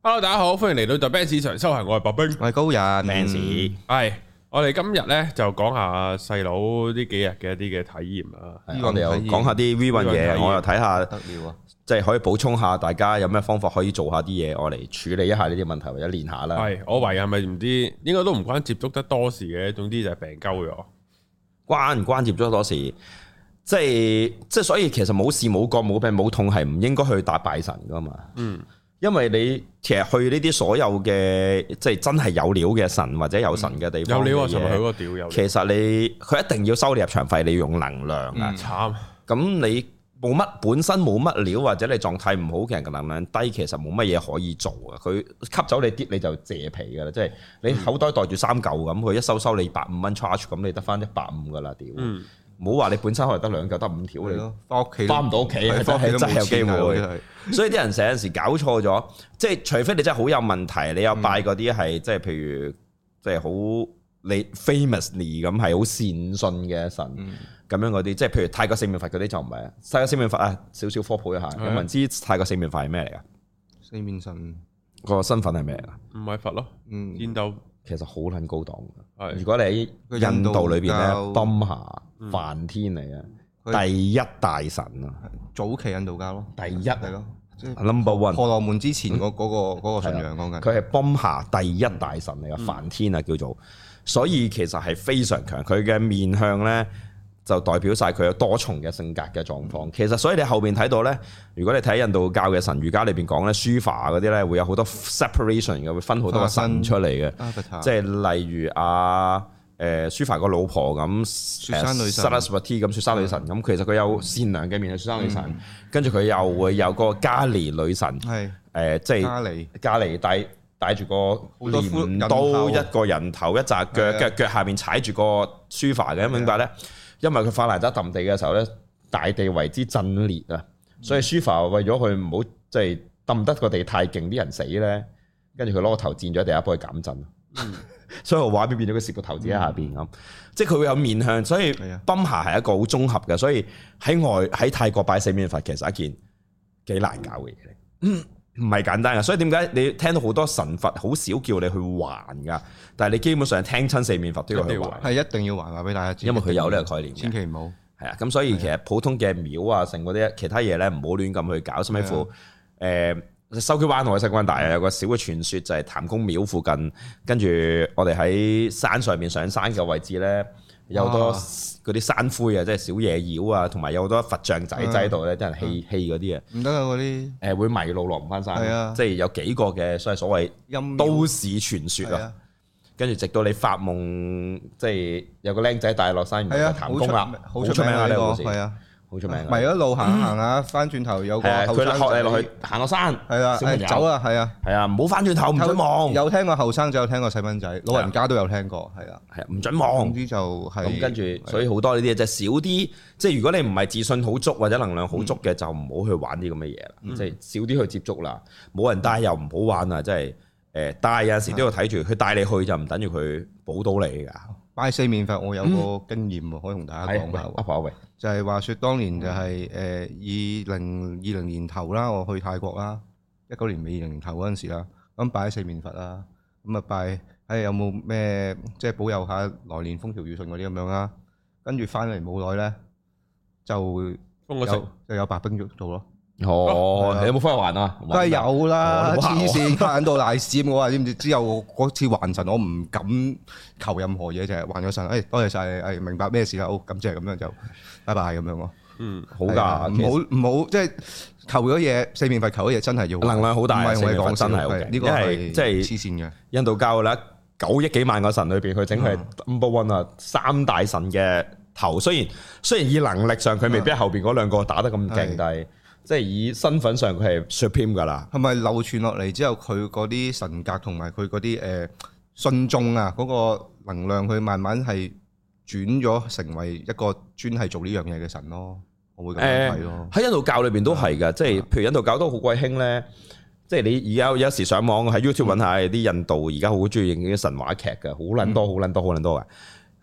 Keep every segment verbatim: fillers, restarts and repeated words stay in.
Hello， 大家好，歡迎嚟到 The Benz 上修行，我係白兵， 我係高人 Benz。係我哋今日咧就講下細佬呢幾日嘅一啲嘅體驗啦。 我哋又講下啲 V 運嘢，我又睇下得了啊，即係可以補充下大家有咩方法可以做下啲嘢，我嚟處理一下呢啲問題或者練下啦。係我懷疑係咪唔知，應該都唔關接觸得多事嘅，總之就係病鳩咗。關唔關接觸多事？即係即係，所以其實冇事冇過冇病冇痛係唔應該去打拜神噶嘛。嗯。因為你其實去呢啲所有嘅即係真係有料嘅神或者有神嘅地方， 有料啊！尋日去嗰個屌有。 其實你佢一定要收你入場費，你要用能量啊！慘。咁你冇乜本身冇乜料，或者你狀態唔好嘅人嘅能量低，其實冇乜嘢可以做啊！佢吸走你啲你就謝皮噶啦，即係你口袋袋住三嚿咁，佢一收收你百五蚊 charge，咁你得翻一百五噶啦屌！唔好話你本身可能得兩嚿得五條你，翻屋企翻唔到屋企，翻屋企真係有機會。所以啲人成日時搞錯咗，即係除非你真係好有問題，你有拜嗰啲係即係譬如即係好你 famously 咁係好善信嘅神咁樣嗰啲，即係譬如泰國四面佛嗰啲就唔係啊。泰國四面佛啊，少少科普一下，有冇人知泰國四面佛係咩嚟㗎？ 四面神個身份係咩嚟㗎？ 唔係佛咯，嗯，印度其實好撚高檔嘅。如果你喺印度裏邊咧，賓霞梵天嚟嘅第一大神啊， 早期印度教咯， 第一係咯，number one。 婆羅門之前嗰嗰個嗰個信仰講緊， 佢係賓霞第一大神嚟嘅，梵天啊叫做，所以其實係非常強。佢嘅面向咧就代表晒佢有多重嘅性格嘅狀況。其實所以你後邊睇到咧，如果你睇印度教嘅神瑜伽裏邊講咧，書法嗰啲咧會有好多 separation 嘅，會分好多個神出嚟嘅，即係例如啊。誒書法個老婆咁，雪山女神 Saraswati 咁，雪山女神咁，其實佢有善良嘅面，雪山女神，跟住佢又會有個加尼女神，係誒即係加尼加尼帶帶住個鐮刀，一個人頭一紮腳，腳腳下面踩住個書法嘅，明白咧？因為佢法蘭德揼地嘅時候咧，大地為之震裂啊，所以書法為咗佢唔好即係揼得個地太勁，啲人死咧，跟住佢攞個頭墊咗地下幫佢減震。所以我畫面變咗佢攝個頭子喺下邊咁，嗯、即係佢會有面向，所以賓霞係一個好綜合嘅，所以喺外喺泰國拜四面佛其實係一件幾難搞嘅嘢嚟，唔係簡單嘅。所以點解你聽到好多神佛好少叫你去還噶，但係你基本上聽親四面佛都要去還， 係一定要還話俾大家知， 因為佢有呢個概念， 千祈唔好係啊。咁所以其實普通嘅廟啊，成嗰啲其他嘢咧，唔好亂咁去搞，甚至乎誒。筲箕灣我喺西關大啊，有個小嘅傳說就係譚公廟附近，跟住我哋喺山上面上山嘅位置咧，有好多嗰啲山灰啊，即係小野妖啊，同埋有好多佛像仔仔喺度咧，啲人棄棄嗰啲啊， 唔得啊嗰啲，誒會迷路落唔翻山， 的即係有幾個嘅所謂所謂都市傳說啊，跟住的直到你發夢，即係有個僆仔帶落山，原來係譚公啦，好出名啊呢個故事。好出名， 咪一路行行下，翻轉頭有個後生仔， 佢學你落去行落山， 係啊，走啊，係啊， 係啊，唔好翻轉頭，唔准望。 有聽過後生仔，有聽過細蚊仔，老人家都有聽過，係啊， 係啊，唔准望。 總之就係咁，跟住所以好多呢啲嘢，就少啲。即係如果你唔係自信好足或者能量好足嘅，就唔好去玩啲咁嘅嘢啦。即係少啲去接觸啦。冇人帶又唔好玩啊！即係誒帶有陣時都要睇住，佢帶你去就唔等於佢保到你㗎。 拜四面佛，我有個經驗喎，可以同大家講下。 阿婆喂， 就係話説當年就係誒二零二零年頭啦，我去泰國啦，一九年尾二零年頭嗰陣時啦，咁拜四面佛啦，咁啊拜誒有冇咩即係保佑下來年風調雨順嗰啲咁樣啦，跟住翻嚟冇耐咧就有就有白兵捉到咯。 哦，你有冇翻去還啊？ 梗係有啦，黐線還到賴屎我話知唔知？之後嗰次還神，我唔敢求任何嘢，就係還咗神。誒，多謝晒，誒，明白咩事啦？好，咁即係咁樣就拜拜咁樣咯。嗯，好噶，唔好唔好，即係求咗嘢，四面佛求咗嘢，真係要能量好大。 唔係我哋講真係，呢個係即係黐線嘅。 印度教啦，九億幾萬個神裏邊，佢整係 number one 啊，三大神嘅頭。雖然雖然以能力上佢未必後邊嗰兩個打得咁勁，但係。即係以身份上佢係 supreme 噶啦， 係咪流傳落嚟之後佢嗰啲神格同埋佢嗰啲誒信眾啊嗰個能量，佢慢慢係轉咗成為一個專係做呢樣嘢嘅神咯，我會咁樣睇咯。喺、 呃、印度教裏邊都係噶，即係譬如印度教都好鬼興咧，即係你而家有時上網喺 YouTube 揾下啲印度而家好中意影啲神話劇嘅，好撚多好撚多好撚多嘅。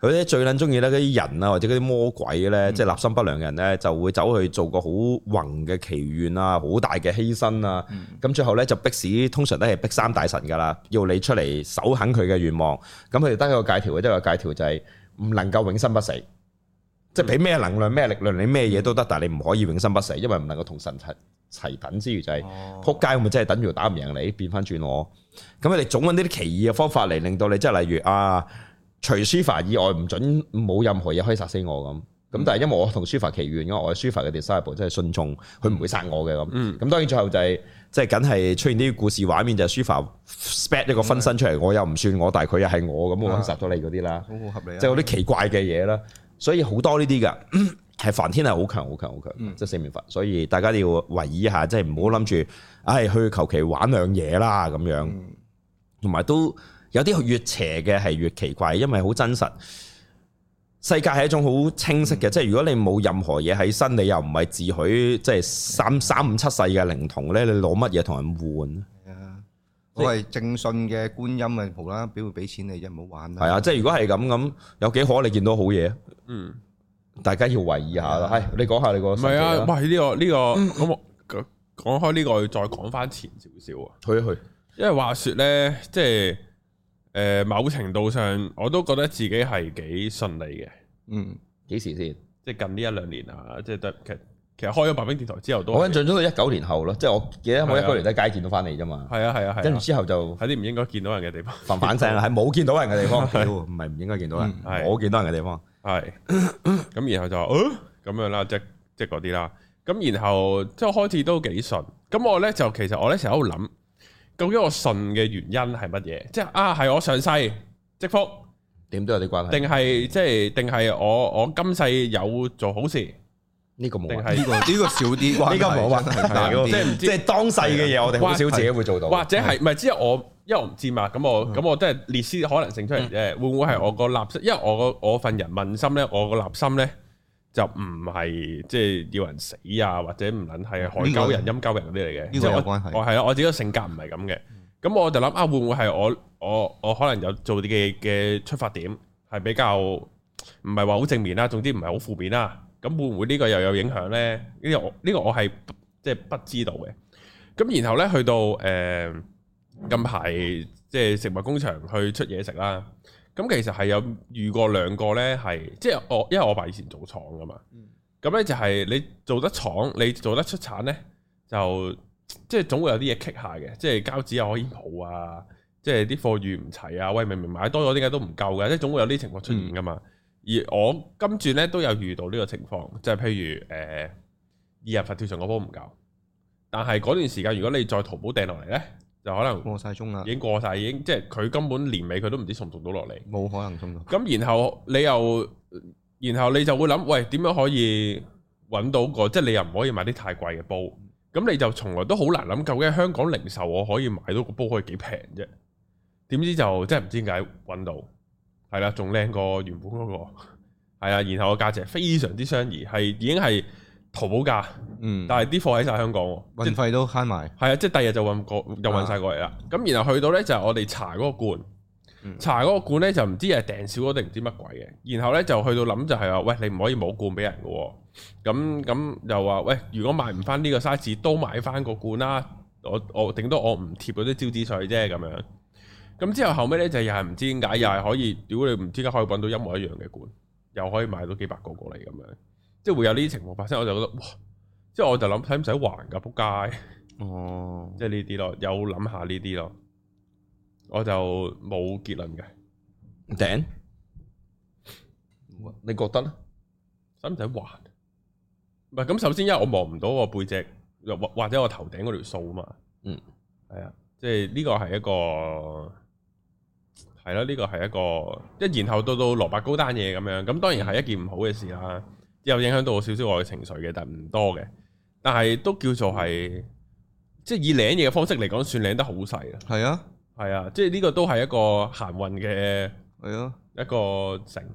佢啲最撚中意咧嗰啲人啊，或者嗰啲魔鬼咧，嗯、即係立心不良嘅人咧，就會走去做個好宏嘅祈願啊，好大嘅犧牲啊。咁、嗯、最後咧就逼使，通常都係逼三大神噶啦，要你出嚟守肯佢嘅願望。咁佢哋得一個戒條嘅，得一個戒條就係唔能夠永生不死。嗯、即係俾咩能量、咩力量，你咩嘢都得，但係你唔可以永生不死，因為唔能夠同神齊齊等之餘就係、是，撲街咪真係等住打唔贏你，變翻轉我。咁佢哋總揾啲啲奇異嘅方法嚟令到你，即係例如啊。除書法以外唔准冇任何嘢可以殺死我咁，咁但係因為我同書法祈願，因為我係書法嘅 disciple，即係信眾，佢唔會殺我嘅咁。咁、嗯、當然最後就係即係梗係出現啲故事畫面，就係書法 spat 一個分身出嚟，我又唔算我，但係佢又係我咁，我肯殺咗你嗰啲啦。好好合理，即係嗰啲奇怪嘅嘢啦。所以好多呢啲㗎，係梵天係好強、好強、好強，嗯、即係四面佛。所以大家要留意一下，即係唔好諗住，唉、哎，去求其玩兩嘢啦咁樣，同埋、嗯、都。有啲越邪嘅係越奇怪，因為好真實。世界係一種好清晰嘅，嗯、即係如果你冇任何嘢喺身，你又唔係自許，即係三三五七世嘅靈童咧，你攞乜嘢同人換？係啊，我係正信嘅觀音啊，無啦啦表會俾錢你啫，唔好玩啦。係啊，即係如果係咁咁，有幾可你見到好嘢？嗯，大家要留意下啦。係、啊，你講下你個。唔係啊，喂，呢個呢個咁我講開呢個，要再講翻前少少啊。去一去，因為話説咧，即係。誒、呃，某程度上我都覺得自己係幾順利嘅。嗯，幾時先？即係近呢一兩年啊，即係得其實其實開咗白兵電台之後都，我印象中都一九年後咯。即係我記得我一九年喺街見到翻嚟啫嘛。係啊係啊係。跟住之後就喺啲唔應該見到人嘅地方，反反聲啦，係冇見到人嘅地方，唔係唔應該見到人，我見到人嘅地方。係。咁然後就誒咁樣啦，即即係嗰啲啦。咁然後即係開始都幾順。咁我咧就其實我咧成日喺度諗。究竟我信嘅原因係乜嘢？即係啊，係我上世積福，點都有啲關係。定係即係，定係我我今世有做好事？呢個冇，定係呢個呢個少啲關係。呢個冇關係，即係唔知。即係當世嘅嘢，我哋好少自己會做到。或者係唔係？只係我，因為我唔知嘛。咁我咁我都係列啲可能性出嚟啫。會唔會係我個立心？因為我個我份人問心咧，我個立心咧。就唔係即係要人死啊，或者唔撚係害鳩人、陰鳩人嗰啲嚟嘅。呢個有關係。我係啊，我自己個性格唔係咁嘅。咁、嗯、我就諗啊，會唔會係我我我可能有做啲嘅嘅出發點係比較唔係話好正面啦，總之唔係好負面啦。咁會唔會呢個又有影響咧？呢、呢個我呢、呢個我係即係不知道嘅。咁然後咧去到誒、呃、近排即係食物工場去出嘢食啦。咁其實係有遇過兩個咧，係即係我，因為我爸以前做廠噶嘛。咁咧、嗯、就係你做得廠，你做得出產咧，就即係總會有啲嘢棘下嘅，即係膠紙又可以冇啊，即係啲貨預唔齊啊，喂，明明買多咗，點解都唔夠嘅？即係總會有啲情況出現噶嘛。嗯、而我今轉咧都有遇到呢個情況，就係、是、譬如誒、呃、二日佛跳牆嗰波唔夠，但係嗰段時間如果你再淘寶訂落嚟咧。就可能過晒鐘啦，已經過晒，已經即係佢根本年尾佢都唔知送唔送到落嚟，冇可能送到。咁然後你又，然後你就會諗，喂，點樣可以揾到個，即係你又唔可以買啲太貴嘅煲，咁你就從來都好難諗，究竟香港零售我可以買到個煲可以幾平啫？點知就真係唔知點解揾到，係啦，仲靚過原本嗰個，係啊，然後個價值非常之相宜，係已經係。淘寶價，嗯，但係啲貨喺晒香港，運費都慳埋，係啊，即係第二日就運過，又運晒過嚟啦。咁、啊、然後去到咧就係我哋查嗰個罐，嗯、查嗰個罐咧就唔知係訂少咗定唔知乜鬼嘅。然後咧就去到諗就係話，喂，你唔可以冇罐俾人嘅，咁咁又話，喂，如果買唔翻呢個 size，都買翻個罐啦。我我頂多我唔貼嗰啲招紙水啫，咁樣。咁之後後尾咧就又係唔知點解，又係可以，如果你唔知點解可以搵到一模一樣嘅罐，又可以買到幾百個過嚟咁樣。即係會有呢啲情況發生，我就覺得哇！即係我就諗，使唔使還㗎？仆街哦！即係呢啲咯，有諗下呢啲咯，我就冇結論嘅。頂，你覺得咧？使唔使還？唔係咁，首先因為我望唔到我背脊，或或者我頭頂嗰條數啊嘛。嗯，係啊，即係呢個係一個係咯，呢個係一個一然後到到蘿蔔糕單嘢咁樣，咁當然係一件唔好嘅事啦。有影響到少少我嘅情緒嘅，但係唔多嘅。但係都叫做係，即係以領嘢嘅方式嚟講，算領得好細啦。係啊，係啊，即係呢個都係一個行運嘅，係啊，一個成。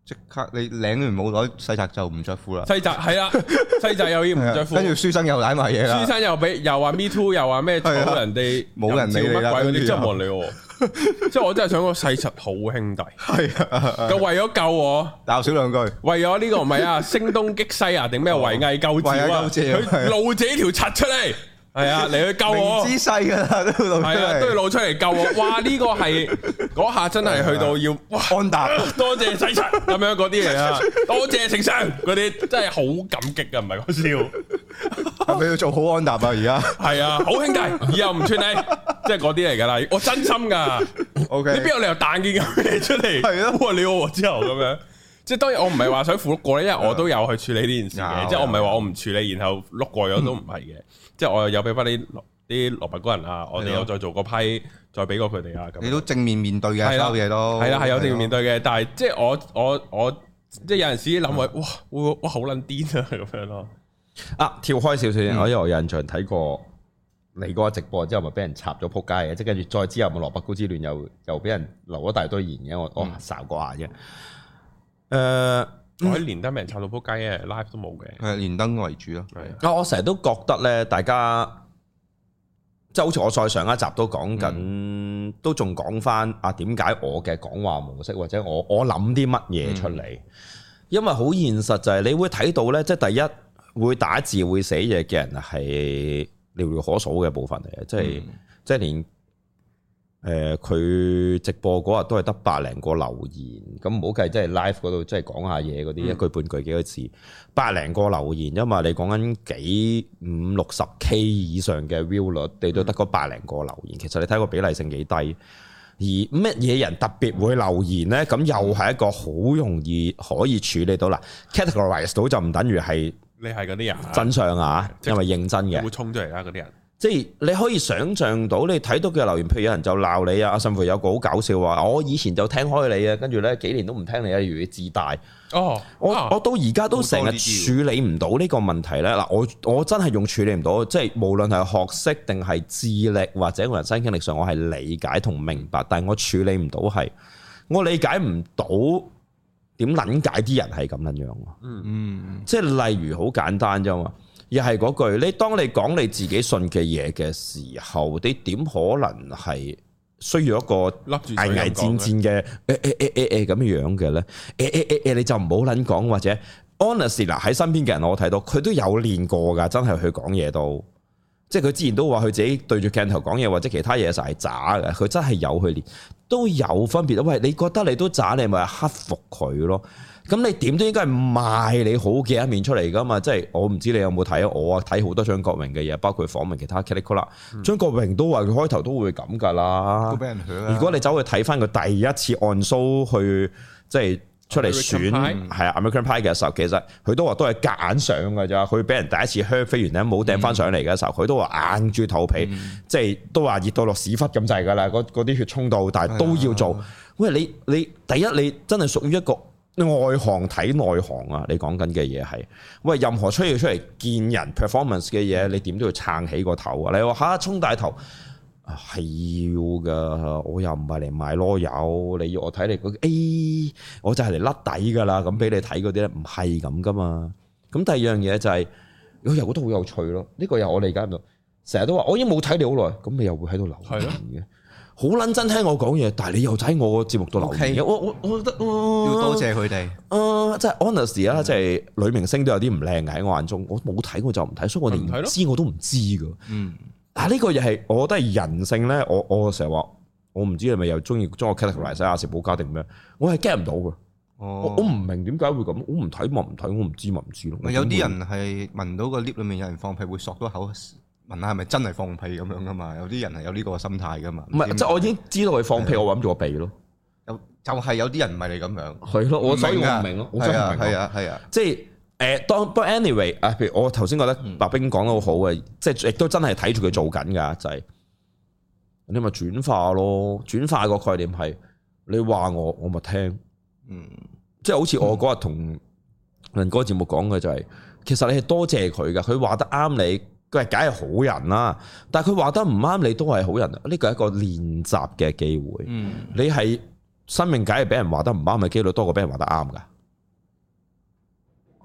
即刻你領完冇耐，細澤就唔着褲啦。 細澤係啦，細澤又要唔着褲， 跟住書生又攬埋嘢啦。 書生又俾又話 me too， 又話咩冇人哋冇人理你啦， 嗰啲真係冇人理我。即係我真係想講細澤好兄弟，係啊，佢為咗救我鬧少兩句， 為咗呢個唔係啊，聲東擊西啊，定咩圍魏救趙啊？佢露自己條柒出嚟。係啊，嚟去救我，姿勢噶啦，都露出嚟，都要露出嚟救我。哇！呢個係嗰下真係去到要哇安踏，多謝洗塵咁樣嗰啲嚟啊，多謝丞相嗰啲，真係好感激噶，唔係講笑。 係咪要做好安踏啊？而家係啊，好兄弟，以後唔串你，即係嗰啲嚟噶啦。我真心噶，OK，你邊有理由彈件咁嘢出嚟？係啊，哇！你我之後咁樣，即係當然我唔係話想負碌過咧，因為我都有去處理呢件事嘅，即係我唔係話我唔處理，然後碌過咗都唔係嘅。即係我又有俾翻啲啲蘿蔔糕人啊，我哋又再做個批，再俾過佢哋啊。咁你都正面面對嘅，所有嘢都係啦，係有正面面對嘅。但係即係我我我即係有陣時諗話，哇會哇好撚癲啊咁樣咯。 啊，跳開少少先，我因為我有印象睇過你嗰個直播之後，咪俾人插咗撲街嘅，即係跟住再之後咪蘿蔔糕之亂又又俾人留咗大堆言嘅，我我睄過下啫。誒。 我喺連登俾人插到撲街嘅 live 都冇嘅， 係連登為主咯。 啊，我成日都覺得咧，大家即係好似我再上一集都講緊，嗯、都仲講翻啊點解我嘅講話模式或者我我諗啲乜嘢出嚟？嗯、因為好現實就係你會睇到咧，即係第一會打字會寫嘢嘅人係寥寥可數嘅部分嚟嘅，即係、嗯、即係連。誒佢、呃、直播嗰日都係得百零個留言，咁唔好計，即係 live 嗰度即係講下嘢嗰啲，嗯、一句半句幾個字，百零個留言，因為你講緊幾五六十 K 以上嘅 view 率，你都得嗰百零個留言，其實你睇個比例性幾低。而乜嘢人特別會留言呢？咁又係一個好容易可以處理到啦。categorize 到就唔等於係你係嗰啲人真相啊，因為認真嘅會衝出嚟啦嗰啲人。 即係你可以想像到，你睇到嘅留言，譬如有人就鬧你啊，甚至有個好搞笑話，我以前就聽開你啊，跟住咧幾年都唔聽你啊，如你自大。哦，我我到而家都成日處理唔到呢個問題咧。嗱，我我真係用處理唔到，即係無論係學識定係智力或者人生經歷上，我係理解同明白，但係我處理唔到係，我理解唔到點撚解啲人係咁樣樣。嗯嗯，即係例如好簡單啫嘛。又係嗰句，你當你講你自己信嘅嘢嘅時候，你點可能係需要一個危危戰戰嘅誒誒誒誒誒咁樣嘅咧？誒誒誒誒，你就唔好撚講，或者 honestly 嗱，喺身邊嘅人我睇到佢都有練過㗎，真係去講嘢都，即係佢之前都話佢自己對住鏡頭講嘢或者其他嘢實係渣嘅，佢真係有去練，都有分別。喂，你覺得你都渣，你咪克服佢咯。咁你點都應該係賣你好嘅一面出嚟噶嘛？即係我唔知你有冇睇啊？我啊睇好多張國榮嘅嘢，包括訪問其他 Kelly 啦。張國榮都話佢開頭都會咁噶啦。都俾人響。如果你走去睇翻佢第一次按 show 去即係出嚟選係啊 American Pie 嘅時候，其實佢都話都係夾硬上㗎咋。佢俾人第一次靴飛完咧冇掟翻上嚟嘅時候，佢、嗯、都話硬住頭皮，嗯、即係都話熱到落屎忽咁滯㗎啦。嗰啲血衝到，但係都要做。哎、呀喂，你你第一你真係屬於一個。外行睇內行啊！你講緊嘅嘢係，喂，任何出要出嚟見人 performance 嘅嘢，你點都要撐起個頭啊！你話嚇衝大頭係要噶，我又唔係嚟賣囉柚，你要我睇你嗰 A，我就係嚟甩底噶啦，咁俾你睇嗰啲咧，唔係咁噶嘛。咁第二樣嘢就係、是，我又覺得好有趣咯。呢、這個又我理解唔到，成日都話我已經冇睇你好耐，咁你又會喺度留言嘅。好撚真聽我講嘢，但係你又喺我個節目度留言嘅，我我我覺得、呃、 要多謝佢哋。 啊，即係 honest 啊，即係女明星都有啲唔靚嘅喺我眼中，我冇睇我就唔睇，所以我連唔知我都唔知噶。嗯，但係呢個又係我覺得係人性咧。我我成日話，我唔知你咪又中意將我 categorize 亞視保家定咩？我係 get 唔到嘅。哦，我唔明點解會咁，我唔睇咪唔睇，我唔知咪唔知咯。有啲人係聞到個 lift 裏面有人放屁會索到口。問下係咪真係放屁咁樣噶嘛？有啲人係有呢個心態噶嘛？唔係，即係我已經知道佢放屁，的我揾住個鼻咯。有就係有啲人唔係你咁樣。係咯，我所以我唔明咯。我真係唔明。係啊，係啊，即係誒，當不過 anyway 啊，譬如我頭先覺得白兵講得好好嘅，即係亦都真係睇住佢做緊㗎，就係、是、你咪轉化咯。轉化個概念係你話我，我咪聽。嗯，即係好似我嗰日同人哥節目講嘅就係、是，其實你係多謝佢㗎，佢話得啱你。佢係梗係好人啦，但係佢話得唔啱你都係好人，呢個係一個練習嘅機會。嗯，你係生命梗係俾人話得唔啱嘅機率多過俾人話得啱噶。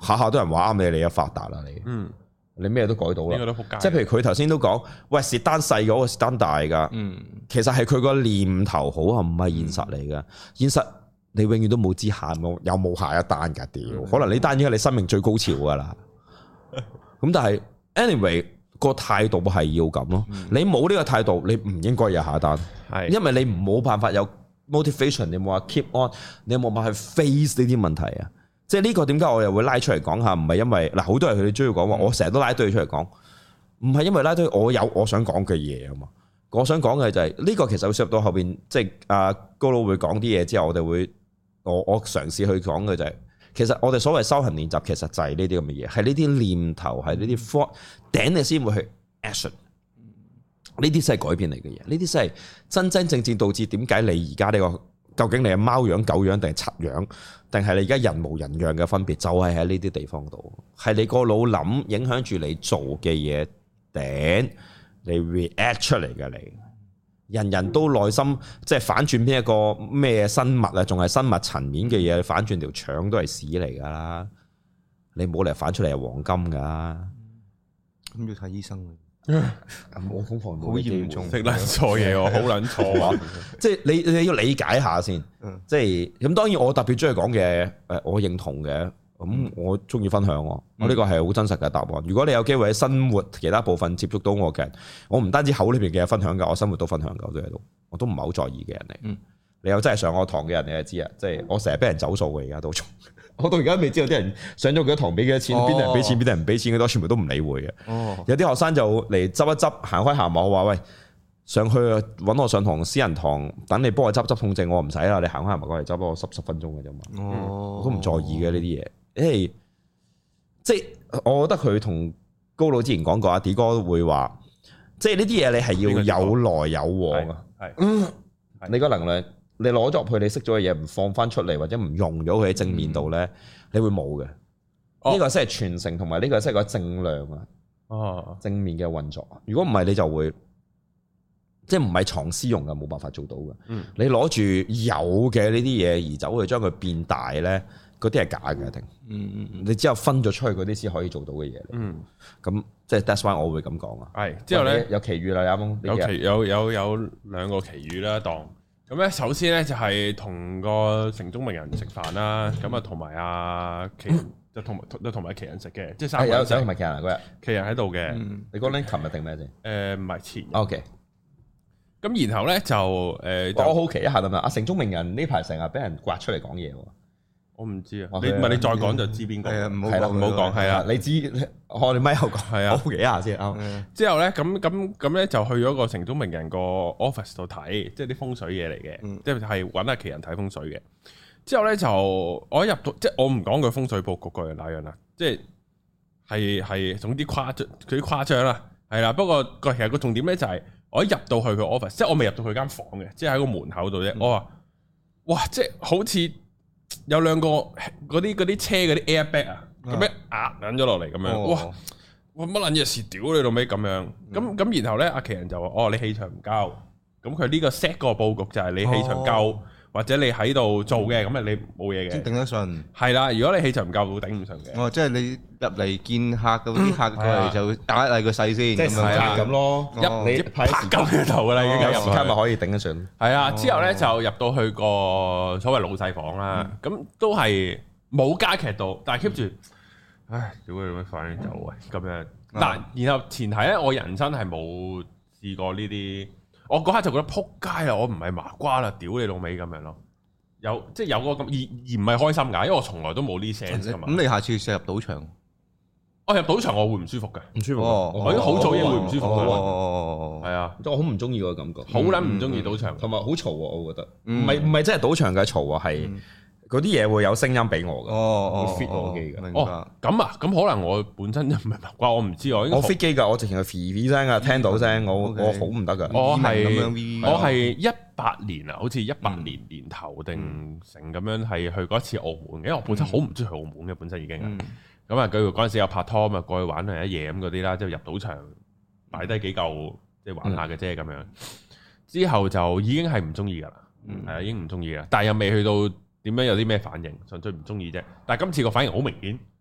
下下都人話啱你，你又發達啦你。嗯。你咩都改到啦，即係譬如佢頭先都講，喂，蝕單細嗰個蝕單大噶，嗯，其實係佢個念頭好啊，唔係現實嚟噶。現實你永遠都冇知下冇有冇下一單噶，屌，可能呢單已經係你生命最高潮噶啦。咁但係 anyway 個態度係要咁咯，你冇呢個態度，你唔應該有下一單，係，因為你冇辦法有 motivation，你冇話 keep on，你有冇辦法去 face 呢啲問題啊？即係呢個點解我又會拉出嚟講下？唔係因為嗱，好多人佢哋中意講話，我成日都拉堆出嚟講，唔係因為拉堆我有我想講嘅嘢啊嘛。我想講嘅就係呢個其實會涉及到後邊，即係阿高佬會講啲嘢之後，我哋會我我嘗試去講嘅就係，其實我哋所謂修行練習，其實就係呢啲咁嘅嘢，係呢啲念頭，係呢啲 thought 頂你先會去 action。呢啲先係改變嚟嘅嘢，呢啲先係真真正正導致點解你而家呢個。究竟你係貓樣、狗樣定係賊樣，定係你而家人模人樣嘅分別，就係喺呢啲地方度，係你個腦諗影響住你做嘅嘢，頂你 react 出嚟嘅你。人人都內心即係反轉邊一個咩生物啊，仲係生物層面嘅嘢，反轉條腸都係屎嚟噶啦，你冇嚟反出嚟係黃金噶，咁要睇醫生。我瘋狂到好嚴重， 識撚錯嘢喎，好撚錯啊！ 即係你你要理解下先，即係咁。當然我特別中意講嘅，誒，我認同嘅，咁我中意分享我，我呢個係好真實嘅答案。如果你有機會喺生活其他部分接觸到我嘅人，我唔單止口裏邊嘅分享噶，我生活都分享噶，我都喺度，我都唔係好在意嘅人嚟。嗯、你有真係上我堂嘅人，你就知啊，即係我成日俾人走數嘅，而家都仲。我到而家未知道啲人上咗幾多堂俾幾多錢，邊啲、哦、人俾錢，邊啲人唔俾錢嘅多，全部都唔理會嘅。哦、有啲學生就嚟執一執，行開行埋，我話喂，上去揾我上堂私人堂，等你幫我執執痛症，我唔使啦，你行開行埋過嚟執，幫我十十分鐘嘅啫嘛。哦、我都唔在意嘅呢啲嘢，因為即係我覺得佢同高佬之前講過，阿 D 哥會話，即係呢啲嘢你係要有來有往啊。係，嗯，你個能量。你攞咗入去，你識咗嘅嘢唔放翻出嚟，或者唔用咗佢喺正面度咧，嗯、你會冇嘅。呢、哦、個先係傳承，同埋呢個先係個正量啊。哦，正面嘅運作。如果唔係，你就會即係唔係藏私用嘅，冇辦法做到嘅。嗯、你攞住有嘅呢啲嘢而走去將佢變大咧，嗰啲係假嘅一定。嗯嗯嗯。你之後分咗出去嗰啲先可以做到嘅嘢。嗯。咁即係 that's why 我會咁講啊。係。之後咧有奇遇啦，有冇？ 有奇有有有兩個奇遇啦，當。咁咧，首先咧就係同個城中名人食飯啦，咁啊同埋阿奇人就同埋同埋奇人食嘅，即係三個人。有同埋奇人嗰日，奇人喺度嘅。 你講緊琴日定咩先？ 誒唔係前日。 O K。 咁然後咧就誒， 我好奇一下咁啊！阿城中名人呢排成日俾人刮出嚟講嘢喎。 我唔知啊，你唔係你再講就知邊個？係啦，唔好講，係啊， 你知我哋咪後講，係啊，好奇一下先啊。 之後咧，咁咁咁咧就去咗個城中名人個 office 度睇，即係啲風水嘢嚟嘅，即係係揾阿奇人睇風水嘅。之後咧就我一入到，即係我唔講佢風水佈局嗰那樣啦，即係係係總之誇張，佢啲誇張啦，係啦。不過個其實個重點咧就係我一入到去佢 office，即係我未入到佢間房嘅，即係喺個門口度啫。我話哇，即係好似〜有兩個嗰啲嗰啲車嗰啲 airbag 啊，咁樣壓緊咗落嚟咁樣，哇！哇乜撚嘢事屌你老味咁樣，咁咁然後咧，阿奇人就話：哦，你氣場唔夠，咁佢呢個 set 個佈局就係你氣場夠，或者你喺度做嘅，咁啊你冇嘢嘅， 頂得順。係啦，如果你氣場唔夠，會頂唔順嘅。 哦，即係你入嚟見客嗰啲客過嚟就打一個勢先， 即係係啦咁咯， 一你拍金嘅頭噶啦，已經有時間咪可以頂得順。 係啊，之後咧就入到去個所謂老細房啦，咁都係冇加劇到，但係 keep 住，唉，屌你咩快啲走啊咁樣。嗱，然後前提咧，我人生係冇試過呢啲。我嗰刻就覺得撲街啦！我唔係麻瓜啦，屌你老味咁樣咯。有即係有個咁而而唔係開心㗎，因為我從來都冇呢 sense 㗎嘛。咁你下次試入賭場， 我入賭場我會唔舒服嘅， 唔舒服。 我已經好早已經會唔舒服㗎啦。 哦，係啊，我好唔中意個感覺， 好撚唔中意賭場， 同埋好嘈喎。我覺得唔係唔係真係賭場嘅嘈啊，係。嗰啲嘢會有聲音俾我嘅，我 fit 我機嘅。 明白。咁啊，咁可能我本身就唔係麻瓜，我唔知我。 我 fit 機㗎，我直情係 fit 聲啊，聽到聲，我我好唔得㗎。 我係我係一八年啊，好似一八年年頭定成咁樣係去過一次澳門嘅，因為我本身好唔中意去澳門嘅，本身已經。咁啊，佢嗰陣時有拍拖嘛，過去玩係一夜咁嗰啲啦，之後入賭場擺低幾嚿即係玩下嘅啫咁樣。之後就已經係唔中意㗎啦，係啊，已經唔中意啦，但係又未去到。點樣有啲咩反應？純粹唔中意啫。但係今次個反應好明顯，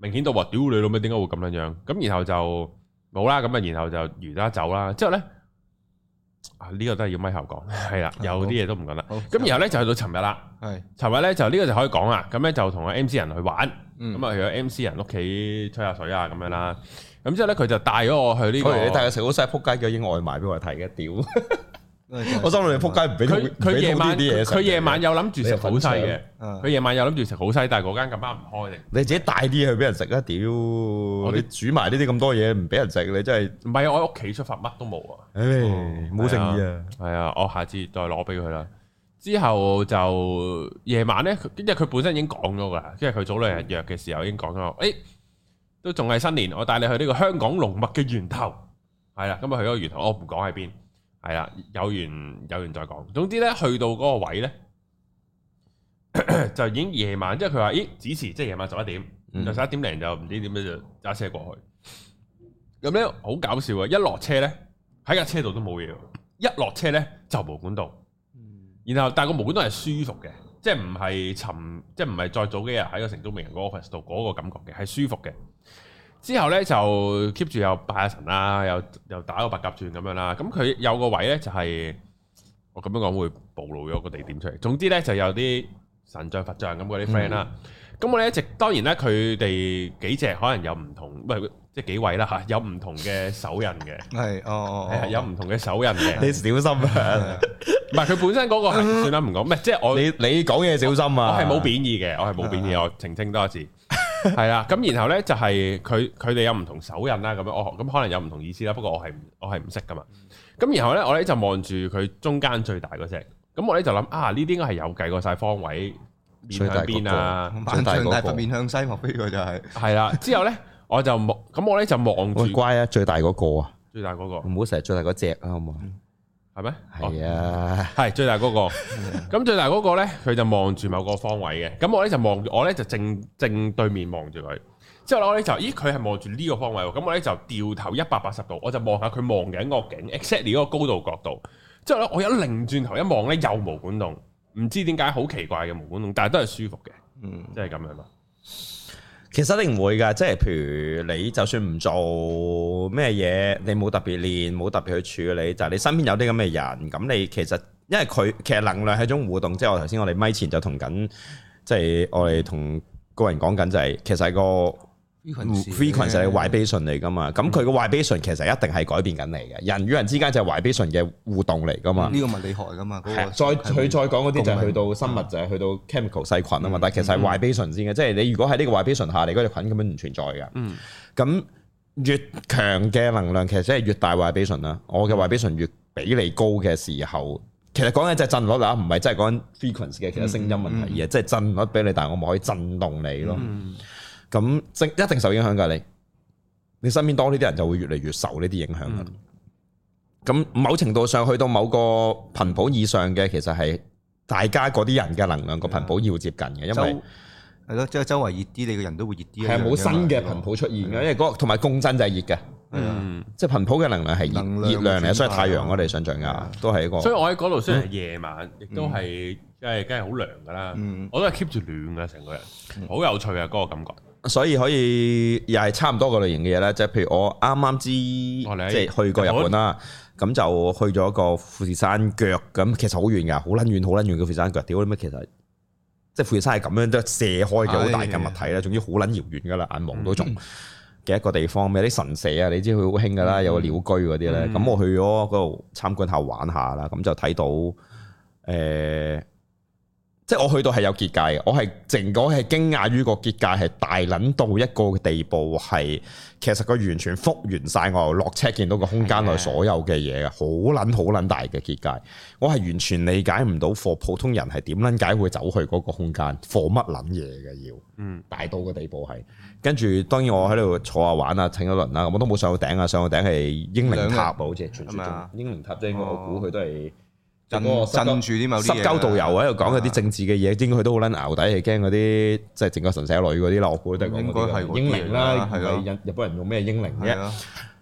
明顯到話屌你老味點解會咁樣樣？咁然後就冇啦，咁啊然後就完啦走啦。之後咧啊呢、這個都係要咪後講，係啦，有啲嘢都唔講得。咁然後咧就去到尋日啦，係尋日咧就呢個就可以講啦。咁咧就同個 M C 人去玩，咁啊、嗯、去咗 M C 人屋企吹下水啊咁樣啦。咁之後咧佢就帶咗我去呢、這個，你帶佢食好晒撲街嘅已經外賣俾我睇嘅屌。我心裏撲街唔俾佢，佢夜晚佢夜晚有諗住食好西嘅，佢夜晚有諗住食好西，但係嗰間咁啱唔開定。你自己帶啲去俾人食啊！屌，你煮埋呢啲咁多嘢唔俾人食，你真係唔係啊！我喺屋企出發乜都冇啊！唉，冇誠意啊！係啊，我下次再攞俾佢啦。之後就夜晚咧，因為佢本身已經講咗噶，因為佢早兩日約嘅時候已經講咗，誒，都仲係新年，我帶你去呢個香港龍脈嘅源頭，係啦，咁啊去咗個源頭，我唔講喺邊。係啦，有緣有緣再講。總之咧，去到嗰個位咧，就已經夜晚，即係佢話，咦，子時即係夜晚十一點，嗯、就十一點零就唔知點樣就揸車過去。咁咧好搞笑啊！一落車咧，喺架車度都冇嘢，一落車咧就毛管道。然後但係個毛管道係舒服嘅，即係唔係沉，即係唔係再早幾日喺個城中名人嗰個 office 度嗰個感覺嘅，係舒服嘅。之後咧就 keep 住又拜下神啦，又又打個白鴿轉咁樣啦。咁佢有個位咧就係、是、我咁樣講會暴露咗個地點出嚟。總之咧就有啲神像佛像咁嗰啲 friend 啦。咁、嗯、我哋一直當然咧佢哋幾隻可能有唔同，唔係即係幾位啦嚇，有唔同嘅手印嘅。係哦哦，係有唔同嘅手印嘅。你小心啊！唔係佢本身嗰個係算啦，唔講咩，即係我你你講嘢小心啊！我係冇貶義嘅，我係冇貶義，我澄清多一次。係啦，咁然後咧就係佢佢哋有唔同手印啦，咁樣我咁可能有唔同意思啦。不過我係我係唔識噶嘛。咁然後咧我咧就望住佢中間最大嗰隻，咁我咧就諗啊呢啲應該係有計過晒方位面向邊啊，最大嗰個面向西，莫非佢就係係啦。之後咧我就望，咁我咧就望住乖啊，最大嗰個啊，最大嗰個唔好成日最大嗰隻啊，好唔好？係咩？係啊，係最大嗰個。咁最大嗰個咧，佢就望住某個方位嘅。咁我咧就望，我咧就正正對面望住佢。之後咧我咧就，咦，佢係望住呢個方位喎。咁我咧就掉頭一百八十度，我就望下佢望緊個景 exactly 嗰個高度角度。之後咧我一擰轉頭一望咧，又毛管戙，唔知點解好奇怪嘅毛管戙，但係都係舒服嘅。嗯，即係咁樣咯。其實一定唔會㗎，即係譬如你就算唔做咩嘢，你冇特別練，冇特別去處理，就係、是、你身邊有啲咁嘅人，咁你其實因為佢其實能量係一種互動，即係我頭先我哋咪前就同緊，即係我哋同個人講緊就係其實係個 frequency 係 vibration 嚟㗎嘛，咁佢個 vibration 其實一定係改變緊你嘅，人與人之間就係 vibration 嘅互動嚟㗎嘛。呢個物理學嚟㗎嘛。係、那個，再佢再講嗰啲就係去到生物，就係去到 chemical 細菌啊嘛。嗯、但係其實係 vibration 先嘅，即係、嗯、你如果喺呢個 vibration 下，你嗰隻菌根本唔存在㗎。嗯。咁越強嘅能量，其實即係越大 vibration 啦。我嘅 vibration 越比你高嘅時候，其實講緊就係震率啦，唔係真係講緊 frequency 嘅其他聲音問題嘅，即係、嗯嗯、震率比你大，我咪可以震動你咯。嗯。咁正一定受影響㗎，你你身邊多呢啲人就會越嚟越受呢啲影響㗎。咁、嗯、某程度上去到某個頻譜以上嘅，其實係大家嗰啲人嘅能量個頻譜要接近嘅，因為係咯，即係周圍熱啲，你個人都會熱啲。係冇新嘅頻譜出現嘅，因為嗰同埋共振就係熱嘅。嗯，即係頻譜嘅能量係熱熱量嚟，所以太陽我哋想象㗎，都係一個。所以我喺嗰度雖然係夜晚，亦都係即係梗係好涼㗎啦。我都係 keep 住暖㗎，成個人好有趣啊！嗰個感覺。所以可以又係差唔多個類型嘅嘢咧，即係譬如我啱啱知，即係去過日本啦，咁就去咗個富士山腳，咁其實好遠㗎，好撚遠，好撚遠嘅富士山腳。屌你咩？其實即係富士山係咁樣都射開嘅好大嘅物體啦，總之好撚遙遠㗎啦，眼望都仲嘅一個地方。有啲神社啊，你知佢好興㗎啦，有個鳥居嗰啲咧。咁我去咗嗰度參觀下玩下啦，咁就睇到誒。即係我去到係有結界嘅，我係淨講係驚訝於個結界係大撚到一個地步，係其實佢完全復原晒我落車見到個空間內所有嘅嘢嘅，好撚好撚大嘅結界，我係完全理解唔到，for普通人係點撚解會走去嗰個空間，for乜撚嘢嘅要，嗯，大到個地步係，跟住當然我喺度坐下玩啊，請咗輪啦，我都冇上到頂啊，上到頂係英靈塔啊，好似傳説中英靈塔，即係我估佢都係。震震住啲某啲嘢，濕鳩導遊喺度講嗰啲政治嘅嘢，應該佢都好撚淆底，係驚嗰啲即係整個神社女嗰啲啦。我估都係講嗰啲英靈啦，係咪日日本人用咩英靈啫？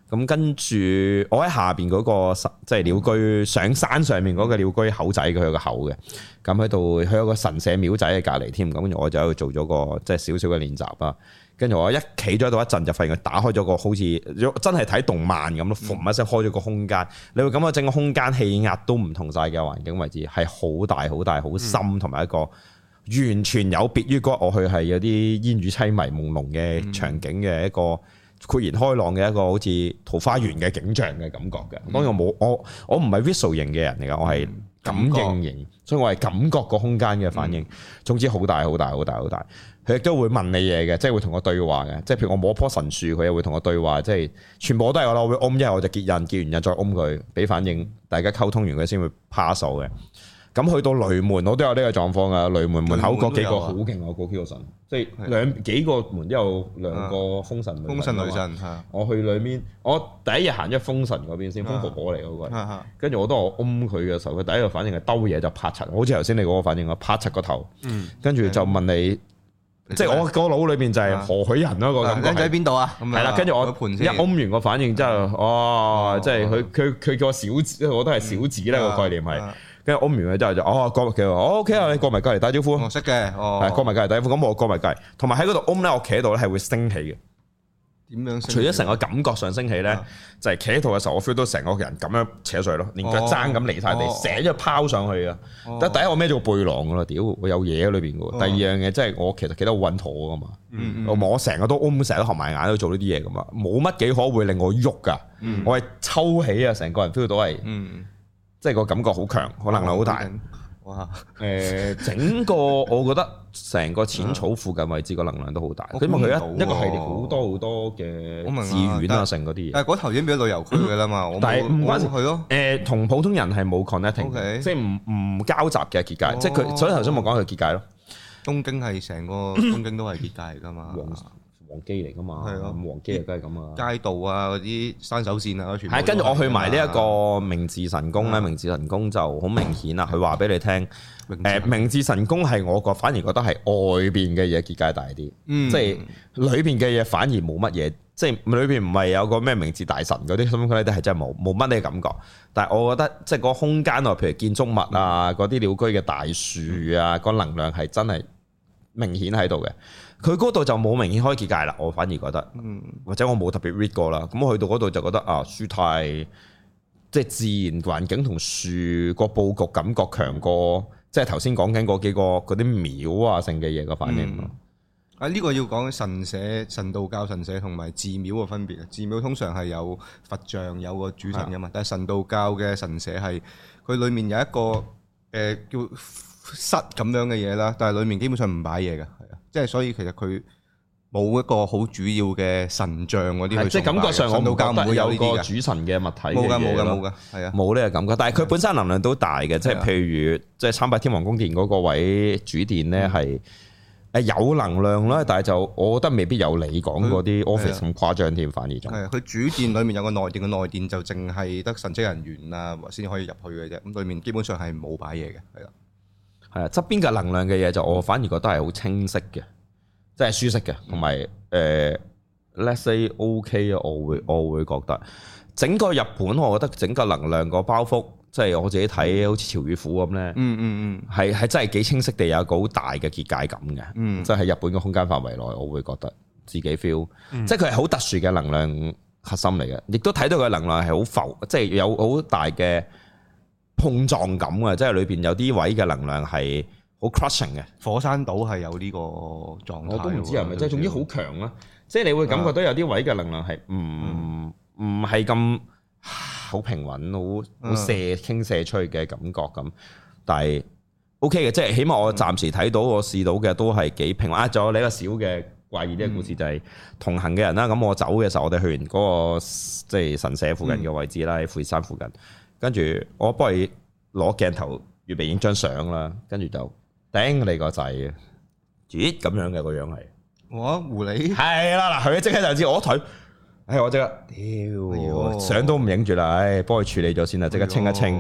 咁跟住我喺下邊嗰個即係鳥居上山上面嗰個鳥居口仔，佢有個口嘅，咁喺度佢有個神社廟仔喺隔離添，咁跟住我就喺度做咗個即係少少嘅練習啦。跟住我一企咗喺度一陣，就發現佢打開咗個好似真係睇動漫咁咯，嘣一聲開咗個空間，你會感覺整個空間氣壓都唔同晒嘅環境位置，係好大好大好深，同埋一個完全有別於嗰我去係有啲煙雨淒迷朦朧嘅場景嘅一個豁然開朗嘅一個好似桃花源嘅景象嘅感覺嘅。當然我冇我我唔係 visual 型嘅人嚟㗎，我係感應型，所以我係感覺個空間嘅反應。總之好大好大好大好大。佢亦都會問你嘢嘅，即係會同我對話嘅。即係譬如我摸棵神樹，佢又會同我對話，即係全部都係我啦。我會 om 一係我就結印，結完印再 om 佢，俾反應，大家溝通完佢先會 pass 嘅。咁去到雷門，我都有呢個狀況啊。雷門門口嗰幾個好勁啊，嗰幾個神，即係兩幾個門都有兩個風神。風神女神係。我去裏面，我第一日行咗風神嗰邊先，風婆婆嚟嗰個。跟住我當我 om 佢嘅時候，佢第一個反應係兜嘢就拍柒，好似頭先你嗰個反應啊，拍柒個頭。跟住就問你。即係我個腦裏邊就係何許人咯，個感覺喺邊度啊？係啦，跟住我一嗡完個反應之後，哦，即係佢佢佢叫我小子，我都係小子咧個概念係。跟住嗡完佢之後就哦過佢話，O K 啊，你過埋隔籬打招呼。我識嘅，哦，係過埋隔籬打招呼。咁我過埋隔籬，同埋喺嗰度嗡咧，我企喺度咧係會升起嘅。點樣？除咗成個感覺上升起咧，就係企喺度嘅時候，我 feel 到成個人咁樣扯上去咯，連腳踭咁離晒地，成咗拋上去啊！但第一我孭咗個背囊噶啦，屌我有嘢喺裏邊噶。第二樣嘢即係我其實企得好穩妥噶嘛，我成日都 O，成日都合埋眼都做呢啲嘢噶嘛，冇乜幾可會令我喐噶。我係抽起啊，成個人 feel 到係，即係個感覺好強，可能量好大。哇！誒，整個我覺得成個淺草附近位置個能量都好大，因為佢一一個系列好多好多嘅寺院啊，成嗰啲嘢。但係嗰頭已經變咗旅遊區㗎啦嘛，但係唔關事係咯。誒，同普通人係冇 connecting，即係唔唔交集嘅結界，即係佢。所以頭先我講佢結界咯。東京係成個東京都係結界嚟㗎嘛。黃基嚟噶嘛，係啊，黃基啊，梗係咁啊。街道啊，嗰啲山手線啊，全部係跟住我去埋呢一個明治神宮咧，明治神宮就好明顯啦。佢話俾你聽，誒明治神宮係我個反而覺得係外邊嘅嘢結界大啲，即係裏邊嘅嘢反而冇乜嘢，即係裏邊唔係有個咩明治大神嗰啲咁嗰啲係真係冇冇乜呢個感覺。但係我覺得即係個空間啊，譬如建築物啊，嗰啲鳥居嘅大樹啊，個能量係真係明顯喺度嘅。佢嗰度就冇明顯開結界啦，我反而覺得，嗯、或者我冇特別 read 過啦。咁我去到嗰度就覺得啊，樹太即係自然環境同樹個佈局感覺強過，即係頭先講緊嗰幾個嗰啲廟啊性嘅嘢個反應咯。啊、嗯，呢、呢個要講神社、神道教神社同埋寺廟嘅分別啊。寺廟通常係有佛像有個主神噶嘛，的但係神道教嘅神社係佢裡面有一個誒、呃、叫室咁樣嘅嘢啦，但係裡面基本上唔擺嘢嘅。即係所以其實佢冇一個好主要嘅神像嗰啲，即係感覺上我冇覺得有個主神嘅物體嘅嘢咯。冇㗎冇㗎冇㗎，係啊，冇呢個感覺。但係佢本身能量都大嘅，即係譬如即係參拜天皇宮殿嗰個位主殿咧係誒有能量啦，但係就我覺得未必有你講嗰啲 office 咁誇張添，反而仲係佢主殿裡面有個內殿，嘅內殿就淨係得神職人員啊先可以入去嘅啫。咁裡面基本上係冇擺嘢嘅，係啦。係啊，側邊嘅能量嘅嘢就我反而覺得係好清晰嘅，即係舒適嘅，同埋誒 let's say OK 啊，我會我會覺得整個日本，我覺得整個能量個包袱，即係我自己睇好似潮與虎咁咧，嗯嗯嗯，係係真係幾清晰地有一個好大嘅結界感嘅，嗯，即係喺日本嘅空間範圍內，我會覺得自己 feel，嗯，即係佢係好特殊嘅能量核心嚟嘅，亦都睇到佢能量係好浮，即係有好大嘅碰撞感啊！即係裏邊有啲位嘅能量係好 crushing 嘅。火山島係有呢個狀態，我都唔知係咪，即係總之好強啦。即係你會感覺到有啲位嘅能量係唔唔係咁好平穩，好好射傾射出去嘅感覺咁。但係 OK 嘅，即係起碼我暫時睇到我試到嘅都係幾平穩。啊，仲有你一個小嘅怪異啲嘅故事就係同行嘅人啦。咁我走嘅時候，我哋去完嗰個即係神社附近嘅位置啦，喺富士山附近。跟住我幫你攞鏡頭預備影張相啦，跟住就頂你個掣啊！咦咁樣嘅個樣係，哇狐狸係啦嗱，佢即刻就知我腿，唉我即刻屌相都唔影住啦，唉幫佢處理咗先啦，即刻清一清，